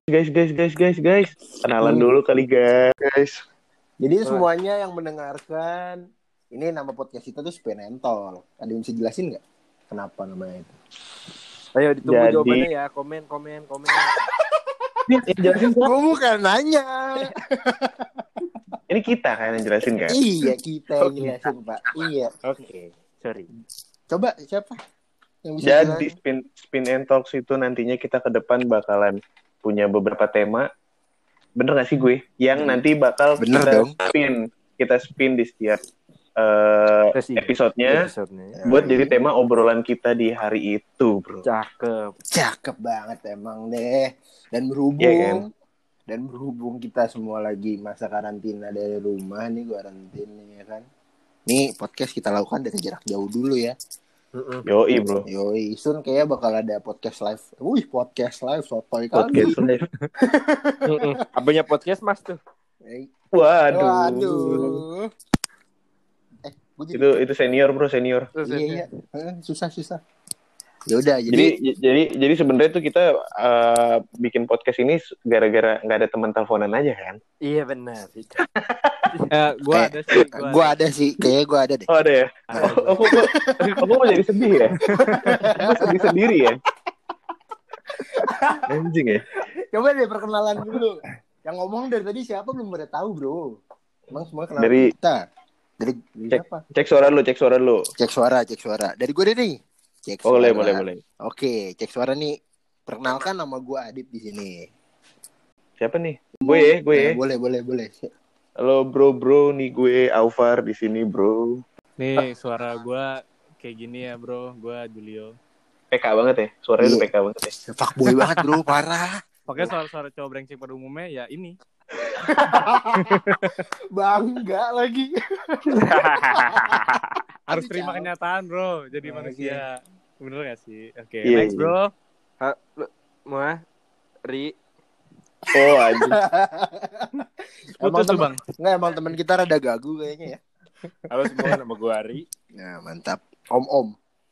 Guys. Kenalan dulu kali guys. Jadi semuanya yang mendengarkan, ini nama podcast kita tuh Spin and Talk. Ada yang bisa jelasin nggak kenapa namanya itu? Ayo ditunggu jawabannya ya. Komen. Jelasin kok. Gue bukan nanya. Ini kita kan yang jelasin kan? Iya, kita yang jelasin Pak. Iya. Oke. Sorry. Coba siapa yang bisa Jadi jelasin? Spin and Talks itu nantinya kita ke depan bakalan punya beberapa tema. Bener gak sih gue? Yang nanti bakal kita spin di setiap episodenya buat jadi tema obrolan kita di hari itu, bro. Cakep banget emang deh. Dan berhubung kita semua lagi masa karantina dari rumah nih, karantina ya kan. Nih podcast kita lakukan dari jarak jauh dulu ya. Yoi bro. Soon kayaknya bakal ada podcast live. Podcast live sotoy kali. Podcast live. Apanya podcast mas tuh? Waduh. Itu senior bro. Iya. Susah. Ya udah jadi sebenarnya tuh kita bikin podcast ini gara-gara nggak ada teman teleponan aja kan? Iya benar. Gue ada sih. Kayaknya gue ada deh. Oh ada ya? Aku mau jadi sedih ya? Aku sedih sendiri ya? Anjing ya? Coba deh perkenalan dulu. Yang ngomong dari tadi siapa belum pada tahu bro. Emang semua kenal dari kita. Dari siapa? Cek suara lu. Cek suara. Dari gue deh nih. Cek suara. Boleh. Oke, cek suara nih. Perkenalkan nama gue Adit di sini. Siapa nih? Gue ya. Boleh. Halo bro, nih gue Aufar di sini bro. Nih suara gue kayak gini ya bro, gue Julio. PK banget ya, suaranya tuh PK banget ya. Fuckboy banget bro, parah. Pokoknya suara cowok brengsek pada umumnya ya ini. Bangga lagi. Harus terima kenyataan bro, jadi manusia. Bener gak sih? Oke, yeah, next bro. Ri. Oh anjing. Putus tuh bang. Nggak, emang teman kita rada gagu kayaknya ya. Halo semua, nama gue Ari. Nah mantap. Om.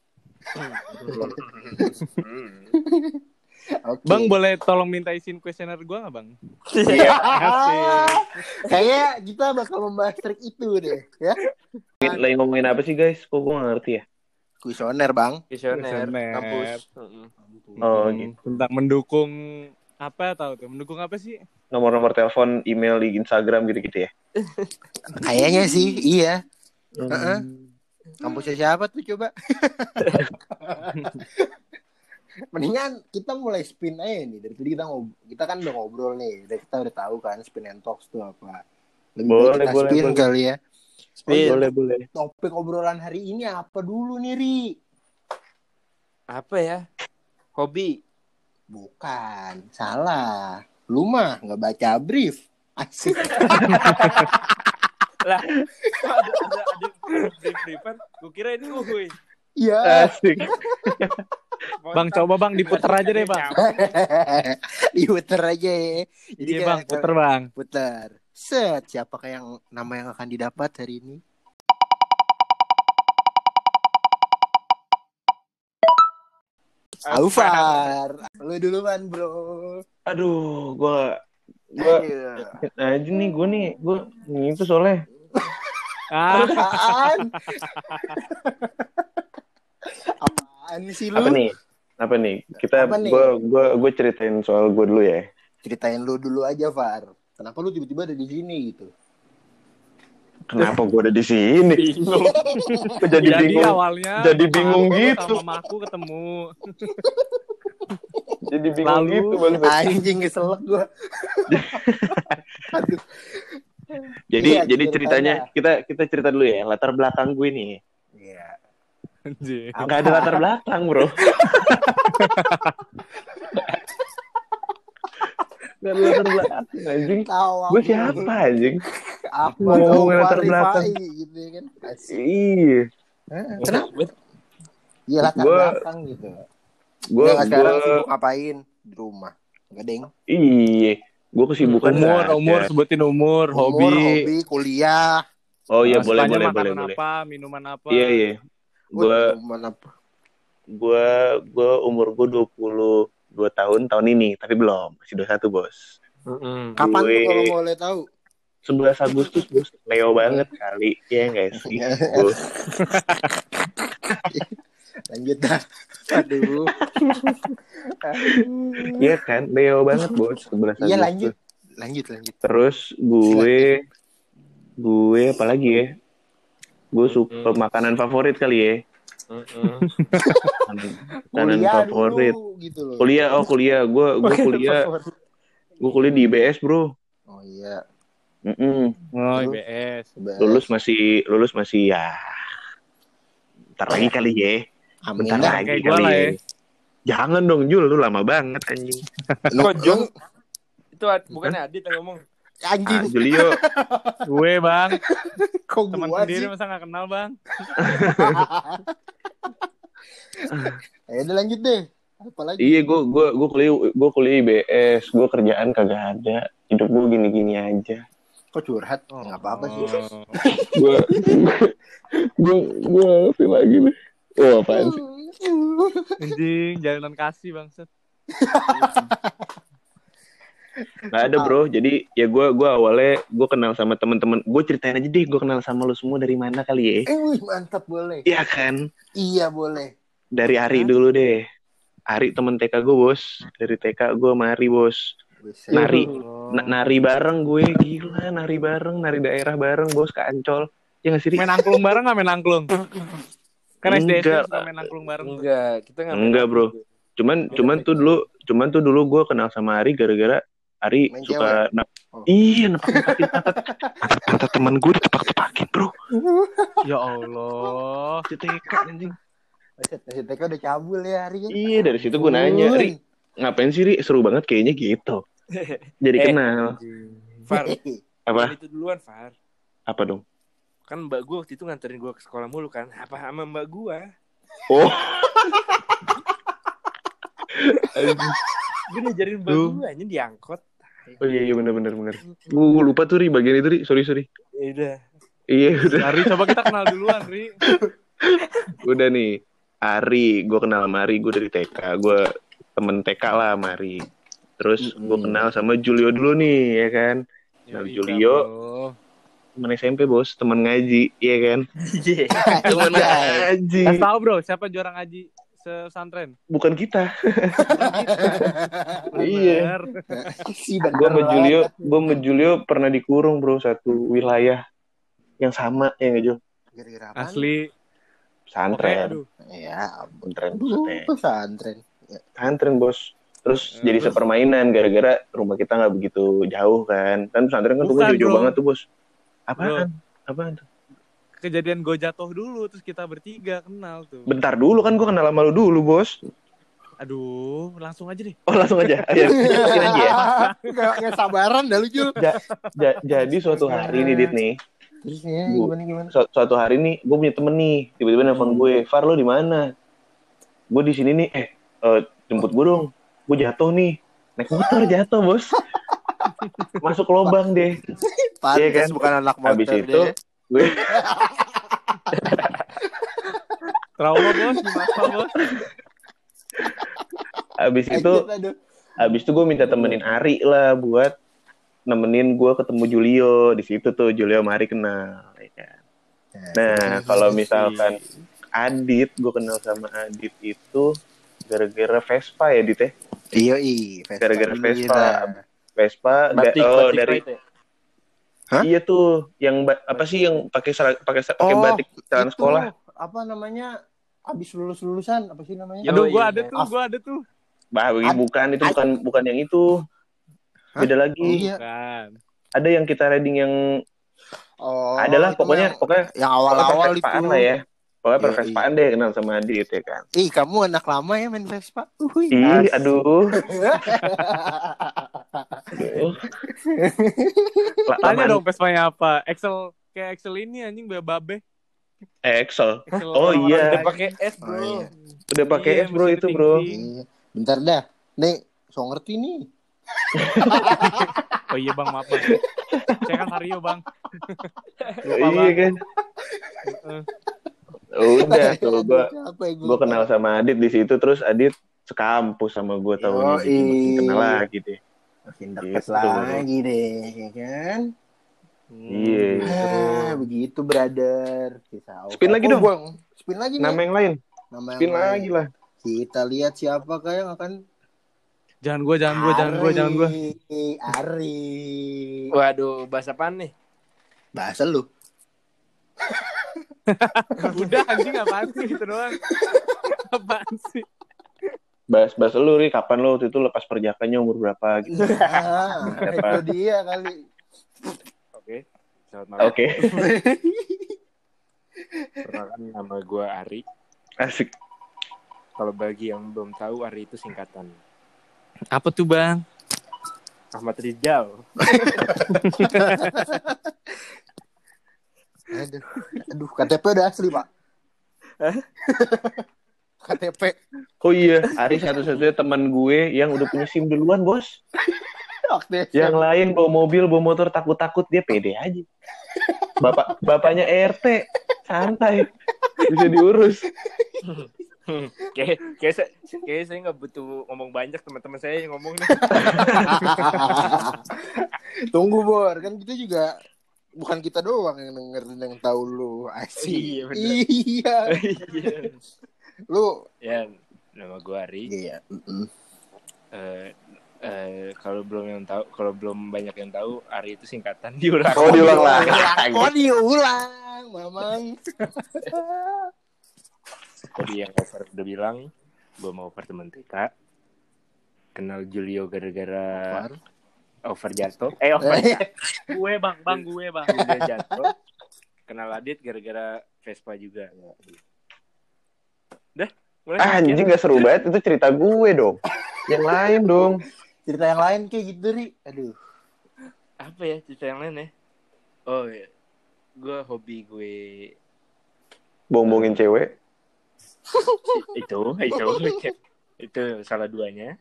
Okay. Bang boleh tolong minta izin kuesioner gue nggak bang? Iya. Kayaknya kita bakal membahas trik itu deh, ya. Lagi ngomongin apa sih guys? Kok gue nggak ngerti ya? Kuesioner bang. Kuesioner kampus. Oh gitu. Tentang mendukung apa tahu tuh? Mendukung apa sih? Nomor telepon, email di Instagram gitu-gitu ya? Kayaknya sih, iya. Kampusnya siapa tuh coba? Mendingan kita mulai spin aja nih. Dari tadi kita kan udah ngobrol nih. Kita udah tahu kan Spin and Talks itu apa. Lebih baik kita spin kali ya. Boleh. Topik obrolan hari ini apa dulu nih, Ri? Apa ya? Hobi. Bukan, salah. Lu mah nggak baca brief. Asik. Lah, ada brief-briefan. Gue kira ini uhuy. Iya. Asik. Bang, coba bang diputer aja deh bang. Diputer aja ya. Jadi iya bang, puter bang. Puter. Set, siapakah yang nama yang akan didapat hari ini? Aufar. Lu duluan bro. Aduh, gue aja nih gue itu soalnya. Apaan sih lu? Apa nih? Gue ceritain soal gue dulu ya. Ceritain lu dulu aja, Far. Kenapa lu tiba-tiba ada di sini gitu? Kenapa gue ada di sini? Jadi bingung. Awalnya jadi bingung gitu. Sama aku ketemu. Jadi bingung gitu bang. Anjing keselak gue. Jadi ceritanya kita cerita dulu ya latar belakang gue nih. Iya. Nggak ada latar belakang bro. Nggak ada latar belakang anjing. Gue siapa anjing? Apa ngomongin latar belakang gitu kan? Iya. Kenapa? Iya latar belakang gitu. Gue sekarang sibuk ngapain di rumah? Nggak deng. Iya. Gue kesibukan umur sebutin umur, hobi, kuliah. Oh iya boleh. Apa, minuman apa? Iya. Gue umur gue 2 tahun ini, tapi belum, masih 21 bos. Kapan tuh kalau boleh tahu? 11 Agustus bos, Leo banget kali, ya nggak sih bos. Lanjut dah. Aduh. Iya kan, Leo banget bos, 11 Agustus. Iya lanjut. Terus gue apa lagi ya? Gue suka makanan favorit kali ya. Makanan favorit. Dulu, gitu loh. Kuliah. Gue kuliah di IBS bro. Oh iya. Oh IBS. Lulus masih ya. Bentar lagi kali ya. Amin Bentar dah. lagi Kayak gue lah ya. Jangan dong Jul, lu lama banget anjing. Kok Jul? Itu bukannya Adit yang ngomong. Anjing. Julio. Gue bang. Kok Teman gua sendiri sih? masa gak kenal bang? Ayo udah lanjut deh. Apa lagi? Iya, gue kuliah IBS, gue kerjaan kagak ada, hidup gue gini-gini aja. Kok curhat? Nggak apa-apa sih. Gue apa lagi nih? Oh apaan sih? Anjing, jalanan kasih bangsat. Nggak ada bro, jadi ya gue awalnya gue kenal sama teman-teman, gue ceritain aja deh, gue kenal sama lu semua dari mana kali ya? Wih, mantap, boleh. Iya kan? Iya boleh. Dari Ari dulu deh. Ari temen TK gue bos, dari TK gue sama Ari bos. Nari bareng gue, gila, nari daerah bareng bos ke Ancol. Ya nggak sih? Main angklung bareng gak main angklung? Kan SD Enggak. suka main angklung bareng. Enggak, kita nggak. Enggak bro. Cuman tuh dulu gue kenal sama Ari gara-gara Ari Main suka cewek. nepak-nepakin pantat teman gue ditepak-tepakin bro. Ya Allah. TK anjing. TK udah cabul ya hari. Iya, dari situ gue nanya, Ri, ngapain sih Ri? Seru banget kayaknya gitu. Jadi kenal. Far, Apa? itu duluan Far. Apa dong? Kan mbak gue waktu itu nganterin gue ke sekolah mulu kan. Apa sama mbak gue? Oh. Gue ngajarin mbak gue aja diangkot. Oh iya benar. Gue lupa tuh Ri bagian itu Ri. Sorry. Udah. Iya udah. Ari, coba kita kenal duluan, Ri. Udah nih. Ari, gue kenal sama Ari, gue dari TK, gue temen TK lah sama Ari. Terus gue kenal sama Julio dulu nih, ya kan. Nah, Julio, temen SMP bos, temen ngaji, ya kan. Temen ngaji. Kasih tahu bro, siapa juara ngaji pesantren? Bukan kita. Iya. Si Gue sama Julio pernah dikurung bro, satu wilayah yang sama, ya nggak Jul? Gara-gara apa? Asli. Pesantren. Ya, Pesantren. Pesantren bos. Terus jadi sepermainan gara-gara rumah kita nggak begitu jauh kan. Kan pesantren kan rumah jauh banget tuh bos. Apaan tuh? Kejadian gue jatuh dulu, terus kita bertiga kenal tuh. Bentar dulu kan gue kenal sama lu dulu bos. Aduh, langsung aja deh. Oh langsung aja. Ayo jelasin aja ya. Gak sabaran dah lu Jul. Jadi suatu hari nih Dit nih. Terus ya gimana? Suatu hari nih gue punya temen nih, tiba-tiba nelfon gue, Far lo di mana? Gue di sini nih, jemput gue dong. Gue jatuh nih, naik motor jatuh bos. Masuk lubang deh. Iya kan? Bukan anak motor. Habis itu gue trauma bos, gimana bos? Habis itu gue minta temenin Ari lah buat nemenin gue ketemu Julio. Di situ tuh Julio sama Ari kenal, ya kan. Nah, kalau misalkan Adit, gue kenal sama Adit itu gara-gara Vespa ya, Dit ya? Iya, gara-gara Vespa batik dari ya? Hah? Iya tuh, yang apa sih yang pakai batik celana sekolah? Apa namanya? Habis lulusan apa sih namanya? Aduh, gue ada tuh. Bah, bukan yang itu. Beda lagi. Iya. Bukan. Ada yang kita riding yang adalah pokoknya yang awal-awal itu lah ya. Pokoknya Pervespaan deh kenal sama Adit ya kan. Ih, kamu anak lama ya main Vespa? Ih, aduh. Tanya dong Vespanya apa? Kayak Excel ini anjing babe. Excel. Oh iya. Udah pakai S, bro. Oh, iya. Udah pakai S, bro, itu, bro. Iya. Bentar dah. Nih, so ngerti nih. Oh iya bang, maaf bang. Saya kan Hario bang. Iya kan. Udah tuh gue kenal sama Adit di situ, terus Adit sekampus sama gue tahun ini, jadi Yoi. makin kenal lagi deh. Makin dekat Gitu. lagi deh, ya kan? Iya. Begitu brother. Spin lagi dong. Bang. Spin lagi Nama nih. yang lain. Nama Spin yang lain. lagi lah. Kita lihat siapa yang akan Jangan gue. Ari. Waduh, bahasa apaan nih? Bahasa lu. Udah anjing apaan sih gitu doang. Apaan sih? Bahas lu Ri, kapan lo waktu itu lepas perjakanya umur berapa gitu. Itu dia kali. Oke. Selamat malam. Oke. Perkenalkan, nama gue Ari. Asik. Kalau bagi yang belum tahu, Ari itu singkatan Apa tuh bang? Ahmad Rizal. Aduh, KTP udah asli, Pak. KTP. Oh iya, Ari satu-satunya teman gue yang udah punya SIM duluan, Bos. Yang lain bawa mobil, bawa motor takut-takut, dia pede aja. Bapaknya RT, santai. Bisa diurus. Kayak saya nggak butuh ngomong banyak, teman-teman saya yang ngomong nih. Tunggu Bor, kan kita juga bukan kita doang yang dengerin yang tahu lu. Asik. Iya. Lu ya, nama gue Ari. Iya. Kalau belum banyak yang tahu, Ari itu singkatan diulang. Oh, diulang lagi. Oh, diulang, Mamang. Tadi yang over udah bilang, gue mau over temen TK. Kenal Julio gara-gara over jatuh. Over Gue bang. Julio jatuh. Kenal Adit gara-gara Vespa juga. Dah, mulai. Anjing gak seru banget, itu cerita gue dong. Yang lain dong. Cerita yang lain kayak gitu, Ri. Aduh. Apa ya cerita yang lain ya? Oh ya, hobi gue Bombongin cewek. itu salah duanya.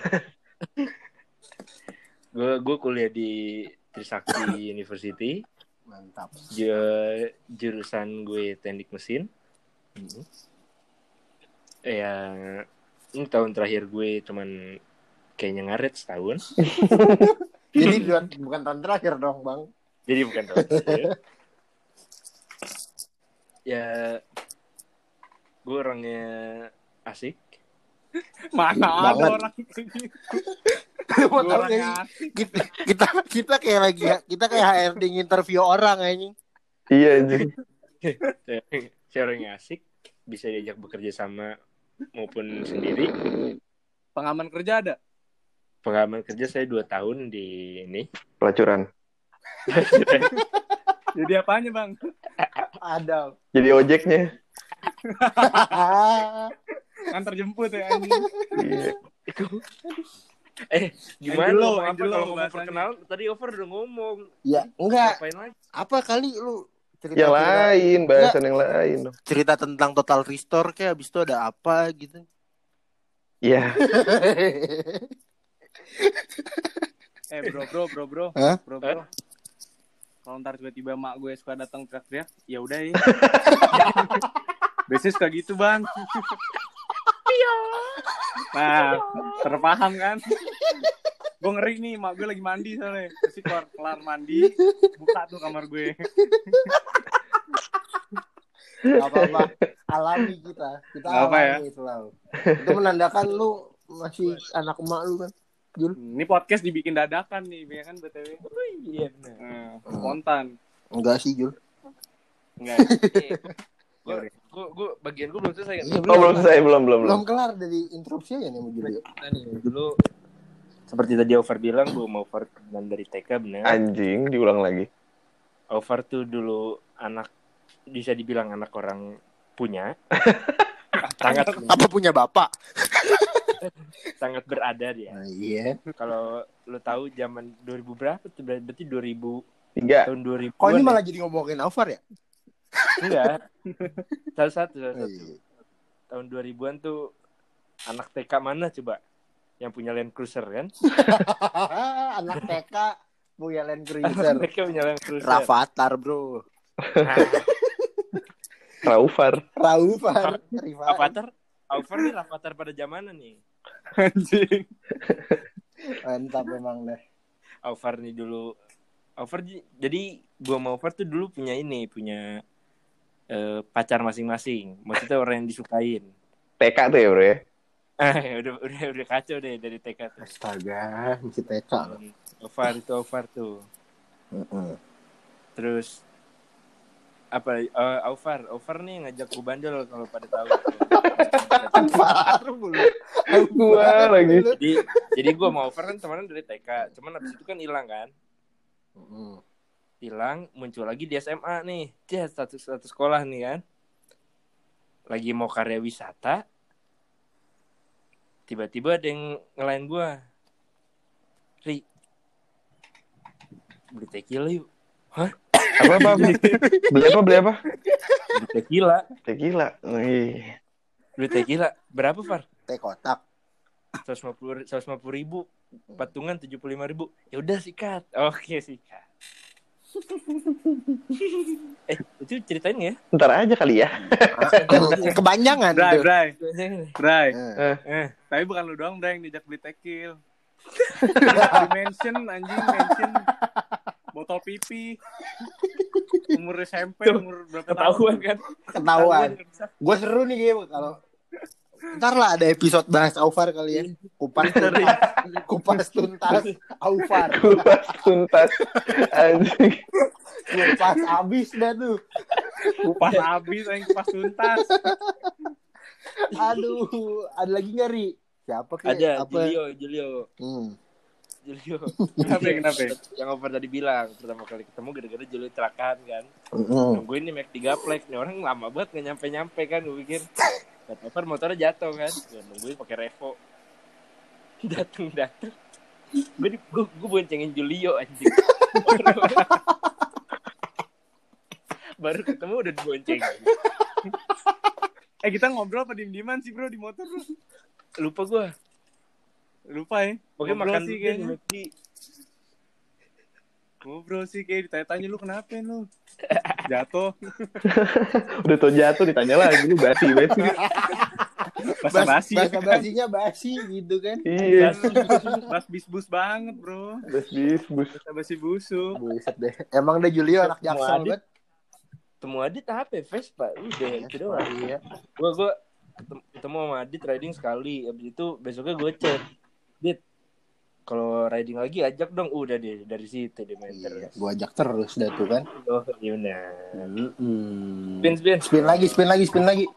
gue kuliah di Trisakti University. Mantap. Jurusan gue teknik mesin. Ya, ini tahun terakhir gue cuman kayaknya ngaret setahun. Jadi bukan tahun terakhir dong, Bang. Jadi bukan tahun terakhir. Ya, gue orangnya asik. Mana ada orang kita kayak HRD interview orang anjing. Iya anjing. Saya orangnya asik, bisa diajak bekerja sama maupun sendiri. Pengalaman kerja ada? Pengalaman kerja saya 2 tahun di ini. Pelacuran. Jadi apanya bang? Ada. Jadi ojeknya. Antar jemput ya anjing. Iya. Gimana Angelo, kalau ngomong bahasanya. perkenalan tadi over udah ngomong. Ya, enggak. Ngapain lagi? Apa kali lu cerita Yang lain, bahasan yang lain. cerita tentang Total Restore kayak abis itu ada apa gitu. Iya. Bro. Hah? Bro. Kalau ntar tiba-tiba mak gue suka datang teriak-teriak, ya udah ya. Biasanya suka gitu bang. Nah, terpaham kan? Gue ngeri nih, mak gue lagi mandi soalnya. Pasti kelar mandi, buka tuh kamar gue. Apa-apa. Alami kita alami selalu. Itu menandakan lu masih anak emak lu kan. Jul. Ini podcast dibikin dadakan nih, ya kan BTW. Iya benar. Spontan. Enggak sih, Jul. Enggak. Gue bagian gue belum selesai kan? Iya, Belum selesai, belum. Belum kelar dari interupsi aja nih sama Jul. Dulu seperti tadi Over bilang, gue mau over dari TK benar. Anjing, diulang lagi. Over tuh dulu anak, bisa dibilang anak orang punya. Sangat Apa punya bapak? sangat berada dia. Iya. Kalau lu tahu zaman 2000 berapa tuh, berarti 2000 3. tahun 2000. Kok ini malah jadi ngomongin Alvar ya? Enggak. Salah satu. Iya. Tahun 2000-an tuh anak TK mana coba yang punya Land Cruiser kan? Anak TK punya Land Cruiser. TK punya Land Cruiser. Rafathar, bro. Raufar. Rafathar. Avatar nih Avatar pada zamanan nih. Anjing. Mantap memang deh. Over nih dulu. Jadi gue sama Over tuh dulu punya pacar masing-masing. Maksudnya orang yang disukain. TK tuh ya bro ya. udah kacau deh dari TK tuh. Astaga, masih TK loh. Over tuh. Terus apa? Over nih ngajak gue bandel kalau pada tahu. Gua lagi. Jadi gue mau Over kan temenan dari TK. Cuman abis itu kan hilang kan. Hilang, muncul lagi di SMA nih. Dia satu sekolah nih kan. Lagi mau karya wisata. Tiba-tiba ada yang ngelain gue. Ri, beli tequila yuk. Hah? Apa? Beli apa? Beli tequila. Wih. Beli tequila. Berapa, Far? Teh kotak. 150 ribu. Patungan 75.000. Ya udah sikat. Oke, sikat. Itu ceritain ya? Ntar aja kali ya. Kebanyakan tuh. Bray. Tapi bukan lu doang, Bray, yang diajak beli tekil. Mention botol pipi. Umur SMP, umur berapa tahun? Ketahuan. Gue seru nih game kalau ntar lah ada episode bahas Aufar kali ya. Kupas tuntas Aufar. Anjing. Kupas abis dah tuh. Kupas tuntas. Aduh, ada lagi nggak Ri? Siapa Ada, Julio. Kenapa? Yang Over tadi bilang pertama kali ketemu gara-gara Julio kecelakaan kan. Nungguin nih Mac 3 Flex nih orang lama banget nggak nyampe kan gue pikir. Kata Over motornya jatuh kan. Gue nungguin pakai Revo. Datang. Gue boncengin Julio anjing. Baru ketemu udah dibonceng. Kita ngobrol apa diem-dieman sih bro di motor bro? Lupa gue. Lupa ya. Pokoknya ngobrol makan sih kayaknya. Ngobrol sih kayak ditanya-tanya lu kenapa lu? Jatuh. Udah tau jatuh ditanya lagi lu basi. Basinya basi gitu kan. Iya. Bas bis-bus banget bro. Basi busuk. Buset deh. Emang deh Julio anak Jaksel banget. Temu Adit HP Vespa udah itu doang. Iya. Gue ketemu sama Adit riding sekali. Abis itu besoknya gue chat. Dit, kalau riding lagi ajak dong. Udah deh dari situ dia main terus. Gue ajak terus dah tuh kan. Oh gimana? Spin lagi. Spin lagi.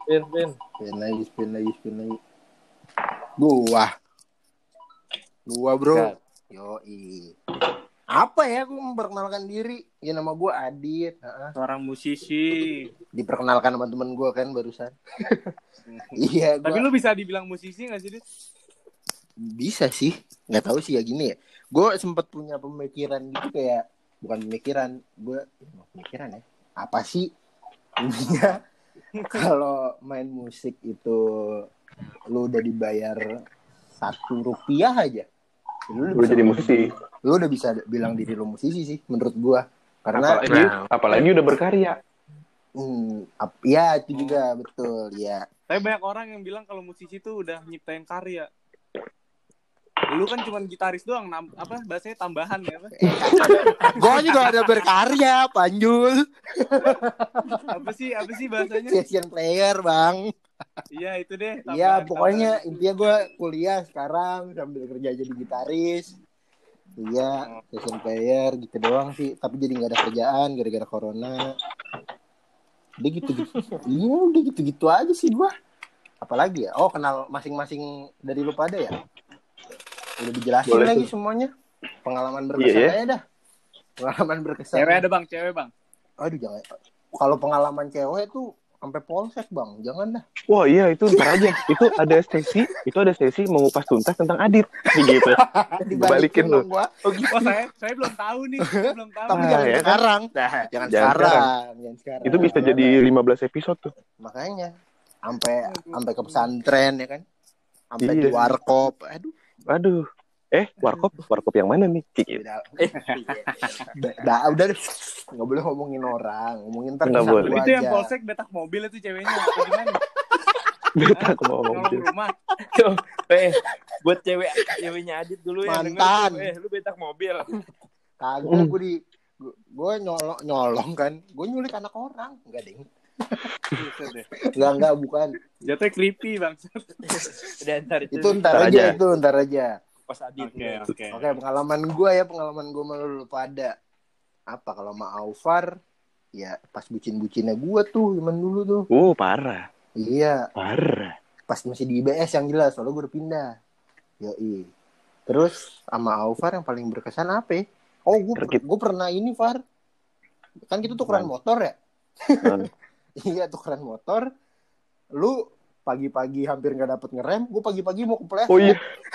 Gua bro. Yoi. Apa ya gue memperkenalkan diri? Ya nama gue Adit. Seorang musisi. Diperkenalkan sama temen gue kan barusan. Iya. Tapi lu bisa dibilang musisi nggak sih Dit? Bisa sih. Nggak tahu sih ya gini ya. Gue sempat punya pemikiran gitu kayak bukan pemikiran ya. Apa sih? Intinya kalau main musik itu lu udah dibayar Rp1 aja. Lu jadi musisi. Lu udah bisa bilang diri lu musisi sih menurut gua. Karena apalagi udah berkarya. Ya itu juga betul ya. Tapi banyak orang yang bilang kalau musisi tuh udah nyiptain karya. Lu kan cuma gitaris doang, bahasanya tambahan ya apa? Gua juga ada berkarya, Panjul. Apa sih bahasanya? Session player, Bang. Iya, itu deh. Iya, pokoknya intinya gua kuliah sekarang sambil kerja jadi gitaris. Iya, session player gitu doang sih, tapi jadi enggak ada kerjaan gara-gara corona. Udah gitu-gitu. Iya, udah gitu-gitu aja sih gua. Apalagi ya? Oh, kenal masing-masing dari lu pada ya? Udah dijelasin boleh lagi tuh semuanya. Pengalaman berkesan aja dah. Pengalaman berkesan. Cewek bang. Aduh jangan. Kalau pengalaman cewek tuh sampai polsek bang, jangan dah. Wah iya itu ntar aja. Itu ada sesi mengupas tuntas tentang Adit. Gitu. Dibalikin lu. Oh gitu. Saya belum tahu nih. Tapi jangan ya sekarang. Jangan sekarang. Itu bisa jadi 15 episode tuh. Makanya sampai ke pesantren ya kan. Sampai di warkop. Aduh. Warkop yang mana nih? Gitu. Udah nggak boleh ngomongin orang, ngomongin ntar itu yang polsek betak mobil itu ceweknya, gimana? Betak mau mobil. Nolong rumah. Tuh, buat ceweknya Adit dulu ya. Mantan. Lu betak mobil. Kagak gue nyolong kan. Gue nyulik anak orang. Enggak ding. Enggak bukan. Jatuhnya creepy bang. Udah Itu ntar aja. Pas Adit. Oke. Pengalaman gue malu lu pada. Apa kalau sama Aufar ya pas bucin-bucinnya gue tuh zaman dulu tuh. Parah. Iya. Parah. Pas masih di IBS yang jelas, soalnya gue udah pindah. Yoi. Terus sama Aufar yang paling berkesan apa ya? Oh, gue pernah ini, Far. Kan kita tukeran motor ya? Iya, tukeran motor. Lu pagi-pagi hampir gak dapet ngerem, gue pagi-pagi mau kepleset. Oh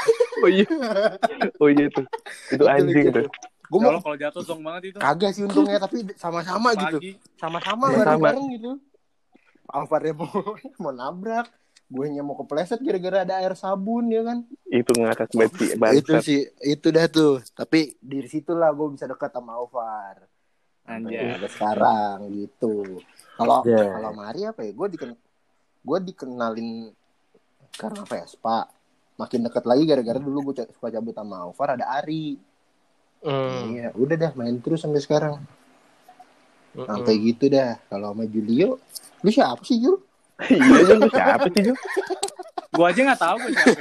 iya tuh. Itu anjing tuh. Gue mau kalau jatuh dong banget itu. Kagak sih untungnya, tapi sama-sama gitu. Sama-sama bareng-bareng gitu. Alvarnya mau nabrak, gue mau kepleset gara-gara ada air sabun ya kan. Itu ngakak banget sih. Itu dah tuh. Tapi dari situlah gue bisa dekat sama Alvar. Anjay. Sampai sekarang gitu. Kalau Mari apa ya? Gue dikenalin karena Vespa. Makin dekat lagi gara-gara dulu gue suka cabut sama Alvar ada Ari. Iya, udah dah main terus sampai sekarang. Sampai gitu dah. Kalau sama Julio, lu siapa sih Jul? Iya lu siapa sih Jul? Gua aja nggak tahu gue siapa.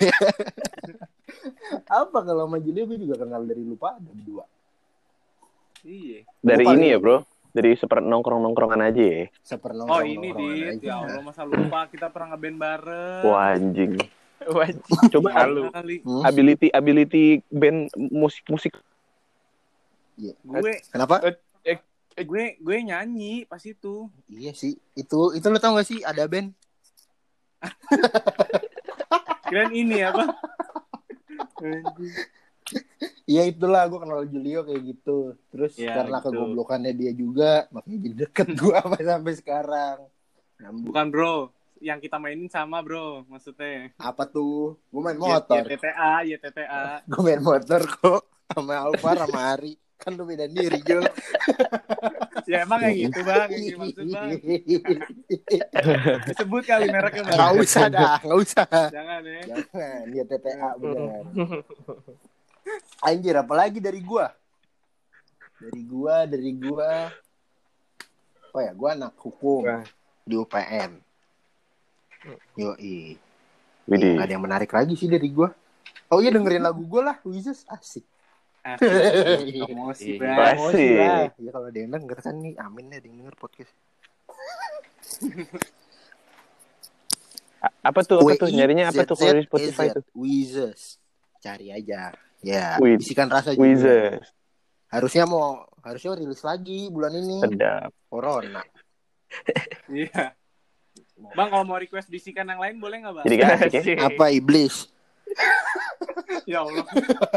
Apa kalau sama Julio gue juga kenal dari lupa ada berdua. Iya. Dari ini ya bro, dari nongkrong-nongkrongan aja ya. Sepernongkrong. Oh ini Dit, ya Allah masa lupa kita pernah ngeband bareng. Wah anjing. Coba lu. ability band musik. Iya. Kenapa? Kenapa? Gue nyanyi pas itu. Iya sih. Itu lo tau gak sih ada band? Kirain ini apa? Iya itulah gue kenal Julio kayak gitu. Terus ya, karena gitu. kegoblokannya dia juga, makanya jadi deket gue sampai sekarang. Bukan bro, yang kita mainin sama bro, maksudnya. Apa tuh? Gue main motor. YTTA. Gue main motor kok sama Alvar sama Ari. Kan lu beda diri Jul. Ya emang kayak gitu bang, yang dimaksud bang. Disebut kali mereknya bang. Gak usah. Jangan ya. Jangan, dia TTA bener. Anjir, apalagi dari gua. Oh ya, gua anak hukum di UPN. Yoi. Gak ada yang menarik lagi sih dari gua. Oh iya, dengerin lagu gua lah, Wizes asik. Emosi lah. Ya kalau ada yang denger kan nih, amin ya ada yang denger podcast. Apa tuh nyarinya apa tuh kalau di Spotify tuh? Wizes. Cari aja. Ya, bisikan rasa juga. Wizes. Harusnya rilis lagi bulan ini. Sedap. Corona. Iya. Bang kalau mau request bisikan yang lain boleh nggak bang? Jadi gak asik ya? Apa iblis? Ya Allah.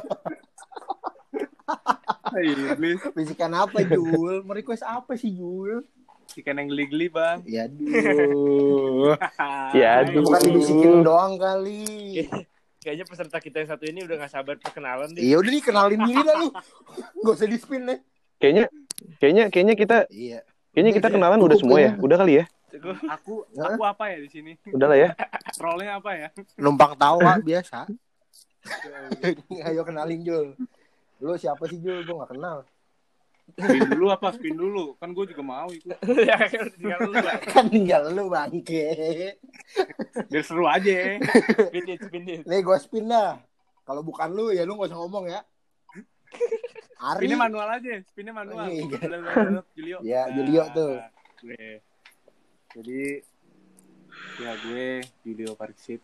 Iblis. Bisikan apa Jul? Mau request apa sih Jul? Bisikan yang geli-geli bang. Ya aduh. Ya aduh. Bukan dibisikin doang kali. Kayaknya peserta kita yang satu ini udah gak sabar perkenalan deh. Iya udah nih kenalin diri dah lu. Gak usah di-spin deh. Kayaknya kita Iya. Kayaknya kita kenalan udah semua ya. Udah kali ya? Aku apa ya di sini? Udah lah ya. Role-nya apa ya? Numpang tawa biasa. Ayo kenalin Jul. Lu siapa sih Jul? Gue gak kenal. Spin dulu. Kan gue juga mau ikut. Ya tinggal lu lah. Kan tinggal lu bangke. Biar seru aja. Spin it. Nih gue spin dah. Kalau bukan lu ya lu gak usah ngomong ya. Ari. Spinnya manual aja. Julio. Ya Julio tuh. Gue. Jadi ya gue Julio Parksit.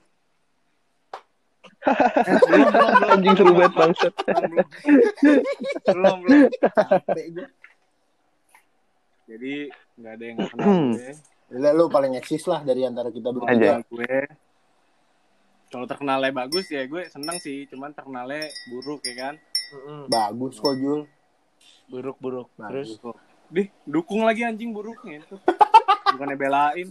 belum anjing seru banget bangsat. Belum. Capek gue. Jadi nggak ada yang nggak kenal gue. Lu paling eksis lah dari antara kita Aja. bertiga. Gue kalau terkenalnya bagus ya gue seneng sih, cuman terkenalnya buruk ya kan. Bagus kok Jul. Buruk. Bagus. Terus dukung lagi anjing buruknya itu. Bukannya belain.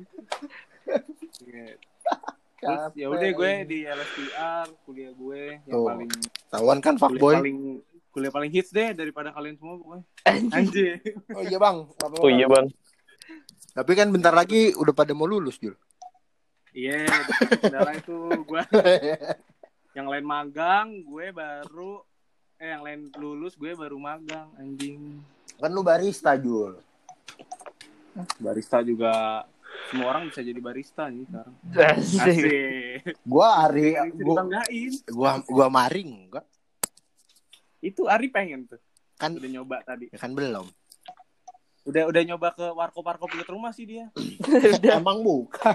Terus ya udah gue di LSPR kuliah gue yang paling tawan kan fuckboy. Kuliah paling hits deh daripada kalian semua pokoknya. Anjir. Oh iya bang. Oh iya bang. Tapi kan bentar lagi udah pada mau lulus Jul. Iya, kendala itu gue. Yang lain magang, gue baru yang lain lulus, gue baru magang, anjing. Kan lu barista, Jul. Barista juga semua orang bisa jadi barista nih sekarang. Asik. Gua Ari, gua maring enggak? Itu Ari pengen tuh. Kan udah nyoba tadi. Ya kan belum. Udah nyoba ke warkop dekat rumah sih dia. Emang buka.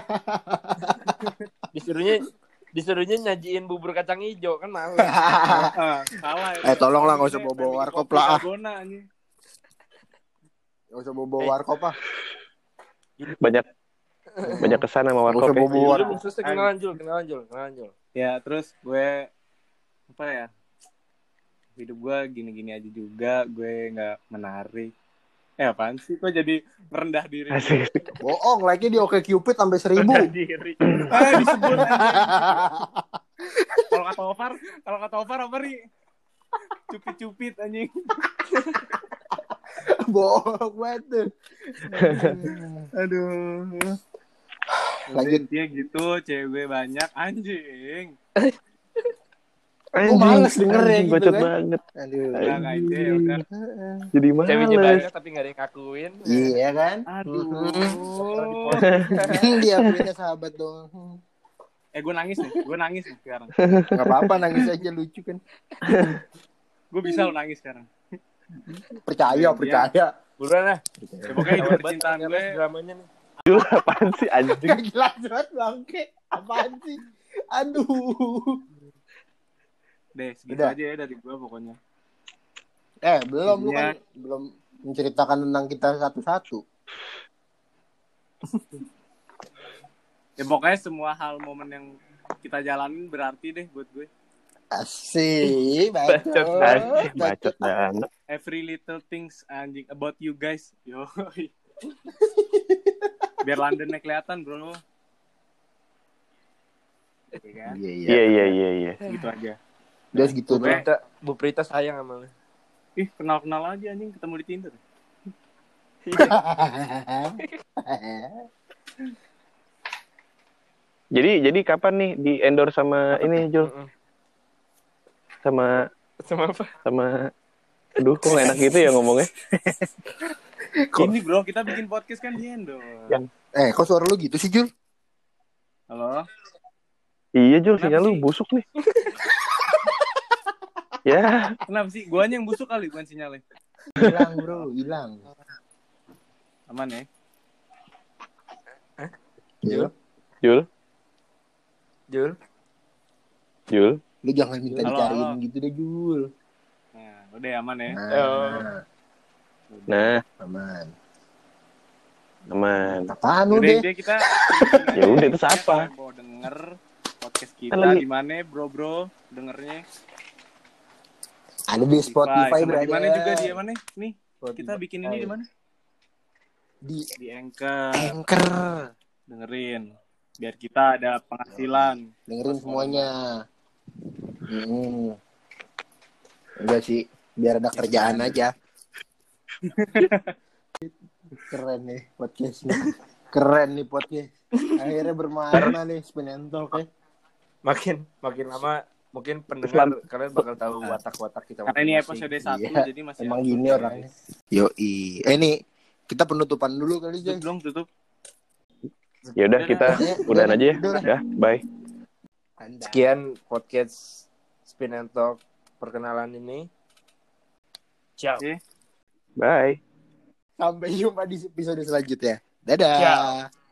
Disuruhnya nyajiin bubur kacang hijau kan malu. Salah. Tolonglah enggak usah bawa warkop lah. Enggak usah bawa warkop ah. Banyak kesan sama warkop. Kenalan Jul. Ya, terus gue apa ya? Hidup gue gini-gini aja juga, gue nggak menarik. Apaan sih? Kok jadi merendah diri? Bohong, lagi di OkCupid sampai 1.000. Diri. Disebut. Kalau kata Ovar apa nih? Cupit anjing. Bohong banget. Aduh. Lanjut dia gitu, cewek banyak anjing. Gue males dengernya gitu bacot kan. Banget. Aduh. Udah. Jadi males. Ceweknya banyak tapi gak ada yang ngakuin. Iya kan? Aduh. Dia punya sahabat dong. Gue nangis nih sekarang. Gak apa-apa, nangis aja, lucu kan. Gue bisa lo nangis sekarang. Percaya. Buruan lah. Ya, pokoknya hidup percintaan gue. Dramanya nih. Jul, apaan sih anjing? Gak jelas banget bangke. Apaan sih? Aduh. Deh, segitu Udah. aja ya dari gue pokoknya. Belum lu kan belum menceritakan tentang kita satu-satu. Ya pokoknya semua hal momen yang kita jalanin berarti deh buat gue. Asik, Bacot banget. Every little things anjing about you guys. Yo. Biar Londonnya kelihatan, bro. Iya. Gitu aja. Udah segitu tuh. Bu Prita sayang sama lu. Ih, kenal aja anjing, ketemu di Tinder. Jadi kapan nih di endorse sama ini Jul? Sama apa? Aduh, kok enak gitu ya ngomongnya. Ini bro, kita bikin podcast kan di endorse. Kok suara lu gitu sih, Jul? Halo? Iya Jul, sinyal lu busuk nih. Ya. Kenapa sih? Guanya yang busuk kali, bukan sinyalnya. Hilang bro, hilang. Aman ya? Jul. Lu jangan minta dicariin gitu deh, Jul. Nah, udah aman ya? Nah. Aman. Apaan lu deh? Kita ya udah, itu siapa? Mau denger podcast kita di mana, bro? Dengernya? Ada di Spotify, berarti. Di mana juga dia mana? Nih, kita bikin ini di mana? Di Anchor. Dengerin. Biar kita ada penghasilan. Dengerin semuanya. Enggak sih, biar ada kerjaan aja. Keren nih podcast. Akhirnya bermakna nih Spin and Talk ya. Makin lama mungkin pendengar kalian bakal tahu watak-watak kita. Karena ini episode 1 jadi masih emang gini orangnya. Yoi. Ini kita penutupan dulu kali aja. Tutup. Ya udah, kita udahan aja ya. Ya, bye. Sekian podcast Spin and Talk perkenalan ini. Ciao. Bye. Sampai jumpa di episode selanjutnya. Dadah. Ciao.